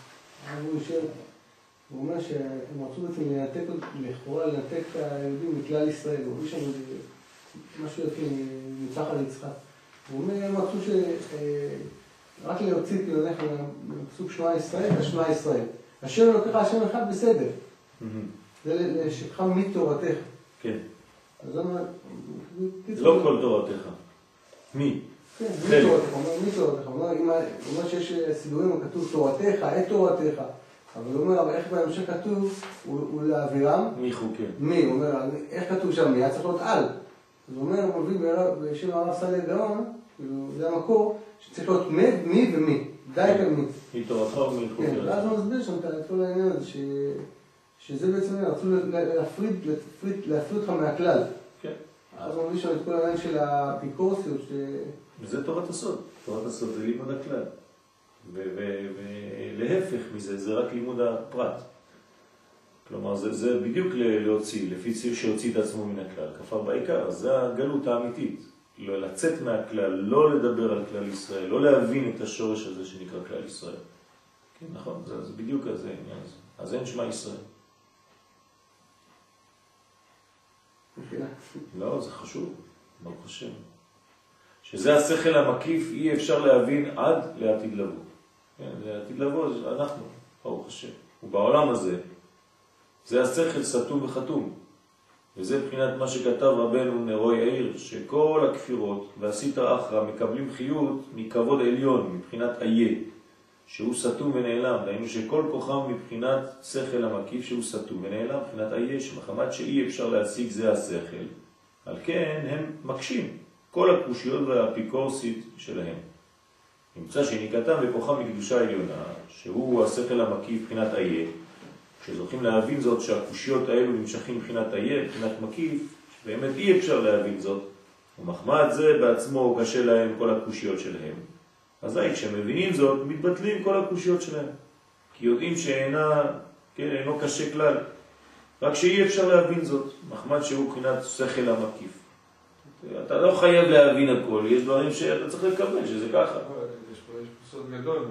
הוא אומר שהם רצו בעצם לנתק את היהודים מכלל ישראל. הוא אומר שם משהו יפה מצח על יצחק. הוא אומר, הם רצו רק להוציא פילונך מפסוק שמע ישראל ושמע ישראל. השם לוקח השם אחד בסדר. זה לשכחה מתורתך. כן. אז הוא אומר... לא כל תורתך. מי? כן, מתורתך. הוא אומר מתורתך. הוא אומר שיש סידורים כתוב תורתך, את תורתך. אבל הוא אומר, איך בהמשך כתוב, הוא להעבירם? מי חוקר? מי? הוא אומר, איך כתוב שם? מי? היה צריך להיות על. אז הוא אומר, הוא מביא בשם הרב סליה גאון, זה המקור, שצריך להיות מי ומי. די כאן מי. מי תורתך או מי חוקר? כן, ואז הוא מסביר שם את כל העניין הזה, שזה בעצם רצו להפריד אותך מהכלל. כן. אז הוא מביא שם את כל העניין של האפיקורסיות. וזה תורת הסוד. תורת הסוד זה לימוד הכלל. ולהפך מזה, זה רק לימוד הפרט. כלומר, זה בדיוק להוציא, לפי ציר שהוציא את עצמו מן הכלל. כפר בעיקר, זה הגלות האמיתית. לא לצאת מהכלל, לא לדבר על כלל ישראל, לא להבין את השורש הזה שנקרא כלל ישראל. כן, נכון? זה בדיוק הזה, העניין הזה. אז אין שמע ישראל. לא, זה חשוב, ברוך השם. שזה השכל המקיף, אי אפשר להבין עד לעתיד לבוא. כן, לעתיד לבוא, אנחנו, ברוך השם. ובעולם הזה, זה השכל סתום וחתום. וזה מבחינת מה שכתב רבנו נרו יאיר, שכל הכפירות והסיטרא אחרא מקבלים חיות מכבוד עליון, מבחינת איה, שהוא סתום ונעלם. דהיינו שכל כוחם מבחינת שכל המקיף שהוא סתום ונעלם, מבחינת איה, שמחמת שאי אפשר להשיג זה השכל. על כן הם מקשים כל הקושיות והאפיקורסית שלהם. נמצא שניקתם בכוחם מקדושה עליונה, שהוא השכל המקיף מבחינת איה, כשזוכים להבין זאת שהקושיות האלו נמשכים מבחינת איה, מבחינת מקיף, באמת אי אפשר להבין זאת, ומחמד זה בעצמו קשה להם כל הקושיות שלהם. אזי כשמבינים זאת, מתבטלים כל הקושיות שלהם. כי יודעים אינו קשה כלל. רק שאי אפשר להבין זאת, מחמד שהוא מבחינת שכל המקיף. אתה לא חייב להבין הכל, יש דברים שאתה צריך לקבל, שזה ככה. יש פה סוד גדול,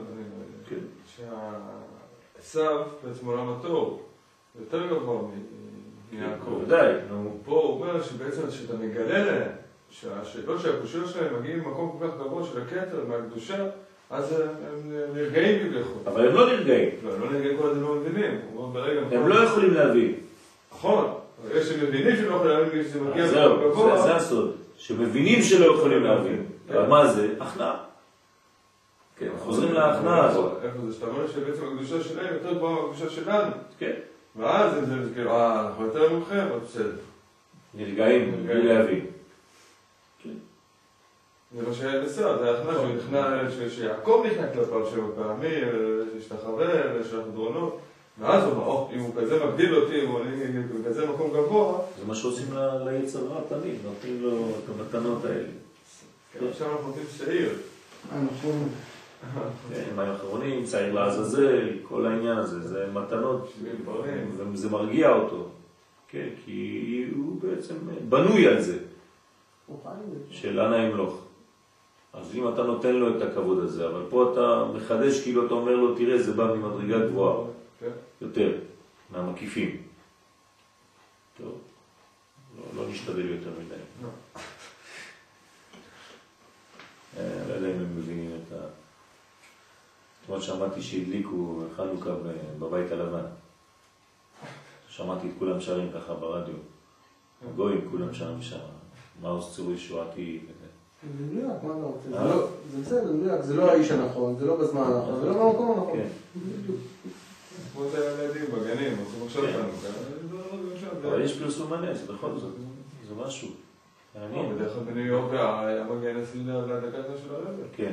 עשיו בעצם עולם התור, יותר גבוה מיעקב. ודאי. פה הוא אומר שבעצם שאתה מגלה להם, שהשאלות שהקושיות שלהם מגיעים למקום כל כך גבוה של הכתר מהקדושה, אז הם נרגעים כביכול. אבל הם לא נרגעים. לא, הם לא נרגעים כל עד הם לא מבינים. הם לא יכולים להבין. נכון. יש שמבינים שלא יכולים להבין כשזה מגיע למקום גבוה. זה הסוד. שמבינים שלא יכולים להבין. אבל מה זה? הכנעה. כן, חוזרים להכנעה הזאת. איפה זה? שאתה אומר שבעצם הקדושה שלהם יותר גבוהה מהקדושה שלנו. כן. ואז זה כאילו, אנחנו יותר ממכם, אבל בסדר. נרגעים, בלי להבין. זה מה שהיה בסדר, זה ההכנעה שהוא נכנע, שיעקב נכנע כלפיו שבע פעמים, שיש את החבר, ויש לך דרונות. ואז הוא אומר, אם הוא כזה מגדיל אותי, אם הוא כזה מקום גבוה... זה מה שעושים ליצר רע תמיד, נותנים לו את המתנות האלה. כן, עכשיו אנחנו נותנים שעיר. נכון. הם האחרונים, צעיר לעזאזל, כל העניין הזה, זה מתנות, וזה מרגיע אותו. כן, כי הוא בעצם בנוי על זה, של אנא ימלוך. אז אם אתה נותן לו את הכבוד הזה, אבל פה אתה מחדש, כאילו אתה אומר לו, תראה, זה בא ממדרגה גבוהה, יותר, מהמקיפים. טוב, לא נשתדל יותר מדי. לא יודע אם הם מבינים את ה... אתמול שמעתי שהדליקו חנוכה בבית הלבן. שמעתי את כולם שרים ככה ברדיו. הגויים כולם שרים שם. מעוז צורי שועתי. זה מדויק, מה אתה רוצה? זה בסדר, זה מדויק. זה לא האיש הנכון, זה לא בזמן הנכון, זה לא במקום הנכון. כמו את הילדים בגנים, עושים עכשיו חנוכה. אבל יש פרסום הנס, בכל זאת. זה משהו. בדרך כלל בניו יורק היה מגן אצלי לדקתו של הרבר. כן.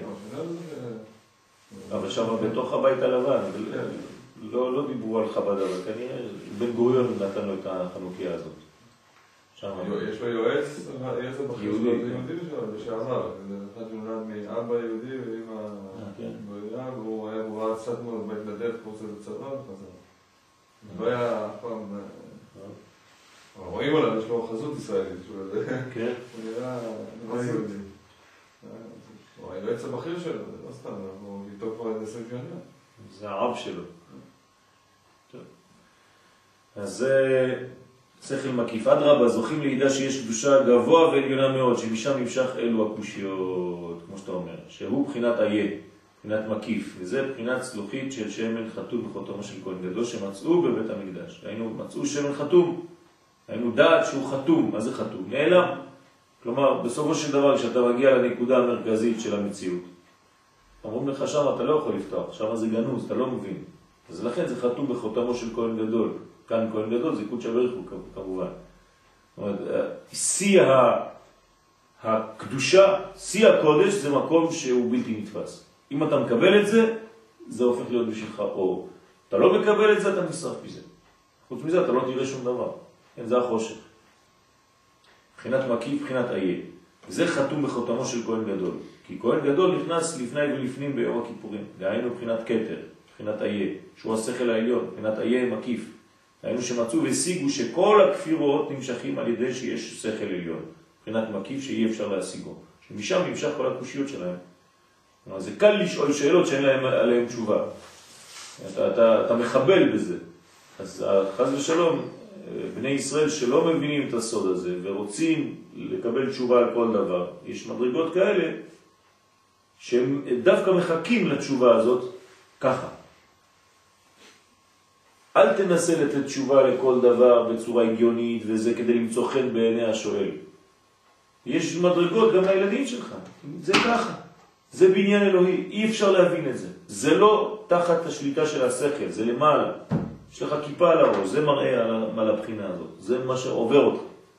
אבל שם בתוך הבית הלבן, לא דיברו על חב"ד, אבל כנראה בן גוריון נתן לו את החנוכיה הזאת. יש לו יועץ הבכיר שלו, זה יהודי לשעבר. זה אחד שנולד מאבא יהודי ואמא גויה, והוא היה ראה קצת מאוד בהתנדב, קורס איזה צבא וחזר. לא היה אף פעם... רואים עליו, יש לו חזות ישראלית. כן. הוא נראה יהודי. הוא היועץ הבכיר שלו, זה לא סתם, הוא איתו כבר עד 20 שנה. זה העב שלו. אז זה שכל מקיף. אדרבה, זוכים לידע שיש קדושה גבוה ועליונה מאוד, שמשם נמשך אלו הקושיות, כמו שאתה אומר, שהוא בחינת איה, בחינת מקיף, וזה בחינת צלוחית של שמן חתום בחותמו של כהן גדול שמצאו בבית המקדש. היינו מצאו שמן חתום, היינו דעת שהוא חתום. מה זה חתום? נעלם. כלומר, בסופו של דבר, כשאתה מגיע לנקודה המרכזית של המציאות, אומרים לך שם, אתה לא יכול לפתוח, שם זה גנוז, אתה לא מבין. אז לכן זה חתום בחותמו של כהן גדול. כאן כהן גדול זה קודש בריך הוא כמובן. זאת אומרת, שיא הקדושה, שיא הקודש זה מקום שהוא בלתי נתפס. אם אתה מקבל את זה, זה הופך להיות בשבילך אור. אתה לא מקבל את זה, אתה נשרף מזה. חוץ מזה אתה לא תראה שום דבר. כן, זה החושך. בחינת מקיף, בחינת איה. זה חתום בחותמו של כהן גדול. כי כהן גדול נכנס לפני ולפנים ביום הכיפורים. דהיינו בחינת כתר, בחינת איה, שהוא השכל העליון, בחינת איה מקיף. דהיינו שמצאו והשיגו שכל הכפירות נמשכים על ידי שיש שכל עליון. בחינת מקיף שאי אפשר להשיגו. שמשם נמשך כל הקושיות שלהם. זה קל לשאול שאלות שאין להם עליהם תשובה. אתה מחבל בזה. אז חס ושלום, בני ישראל שלא מבינים את הסוד הזה ורוצים לקבל תשובה על כל דבר, יש מדרגות כאלה שהם דווקא מחכים לתשובה הזאת ככה. אל תנסה לתת תשובה לכל דבר בצורה הגיונית וזה כדי למצוא חן בעיני השואל. יש מדרגות גם לילדים שלך, זה ככה. זה בניין אלוהי, אי אפשר להבין את זה. זה לא תחת השליטה של השכל, זה למעלה. יש לך כיפה על הראש, זה מראה על הבחינה הזאת. זה מה שעובר אותך.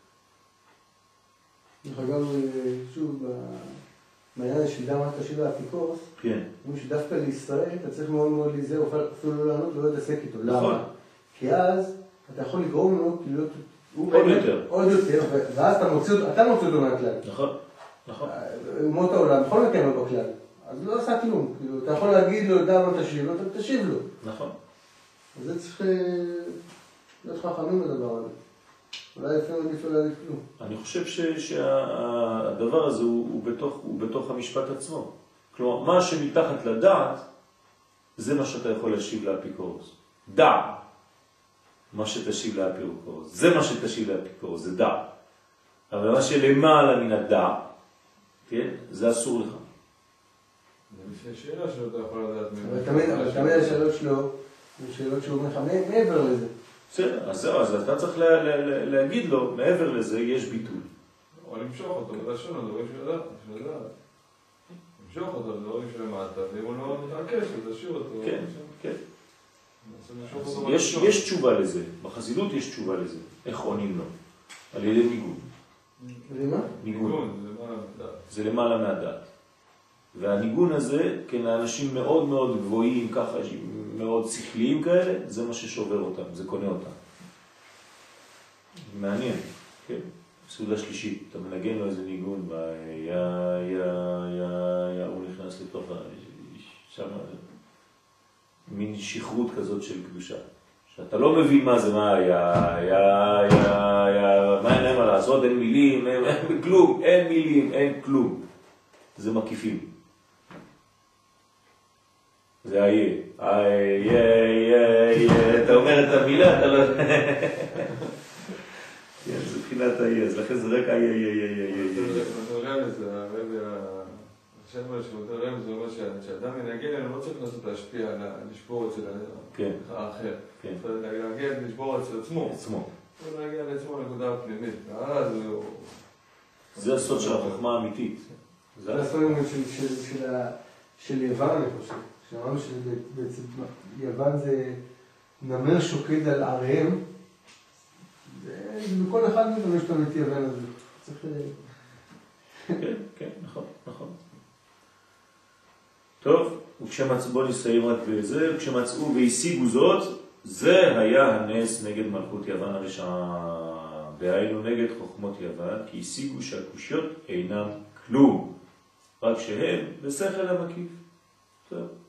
אגב, שוב, בעניין של דמה תשיב לאפיקורס, כן. אומרים שדווקא לישראל אתה צריך מאוד מאוד להיזהר, אפילו לא לענות ולא להתעסק איתו. נכון. למה? כי אז אתה יכול לגרום לו להיות... עוד יותר. ואז אתה מוציא אותו מהכלל. נכון. נכון. אומות העולם, בכל מקרה לא בכלל. אז לא עשה כלום. אתה יכול להגיד לו, דמה תשיב לו, אתה תשיב לו. נכון. אז זה צריך להיות חכמים בדבר הזה. אולי אפילו עדיף לא להגיד כלום. אני חושב שהדבר הזה הוא בתוך המשפט עצמו. כלומר, מה שמתחת לדעת, זה מה שאתה יכול להשיב לאפיקורוס. דע. מה שתשיב לאפיקורוס. זה מה שתשיב לאפיקורוס, זה דע. אבל מה שלמעלה מן הדע, כן? זה אסור לך. זה לפני שאלה שאתה יכול לדעת. אבל תמיד השאלות שלו, שאלות שהוא אומר לך מעבר לזה. בסדר, אז זהו, אז אתה צריך להגיד לו, מעבר לזה יש ביטול. או למשוך אותו, בלשון, דברים של לדעת. למשוך אותו, דברים שלמטה, ואם הוא לא מתעקש, אז תשאיר אותו. כן, כן. יש תשובה לזה, בחסידות יש תשובה לזה. איך עונים לו? על ידי ניגון. למה? ניגון. זה למעלה מהדעת. והניגון הזה, כן, לאנשים מאוד מאוד גבוהים, ככה, מאוד שכליים כאלה, זה מה ששובר אותם, זה קונה אותם. מעניין, כן? סעודה שלישית, אתה מנגן לו איזה ניגון, הוא נכנס לתוך שם, מין שכרות כזאת של קדושה. שאתה לא מבין מה זה, מה אין להם מה לעשות, אין מילים, אין כלום, אין מילים, אין כלום. זה מקיפים. זה אתה אומר את המילה, אתה לא... זה בחינת אז לכן זה רק השם שמותר רמז, זה אומר שאדם ינגן, הוא לא צריך לנסות להשפיע על לשבור אצל האחר. להגיע לשבור אצל עצמו. הוא להגיע לעצמו לנקודה הפנימית. זה הסוד של החוכמה האמיתית. זה הסוד של יוון, אני חושב. שאמרנו שיוון זה נמר שוקד על עריהם. בכל אחד מאיתנו יש לנו את יוון הזה. צריך... כן, נכון. טוב, בוא נסיים רק בזה, כשמצאו והשיגו זאת, זה היה הנס נגד מלכות יוון הרשעה, והיינו נגד חוכמות יוון, כי השיגו שהקושיות אינם כלום, רק שהם בשכל המקיף. טוב.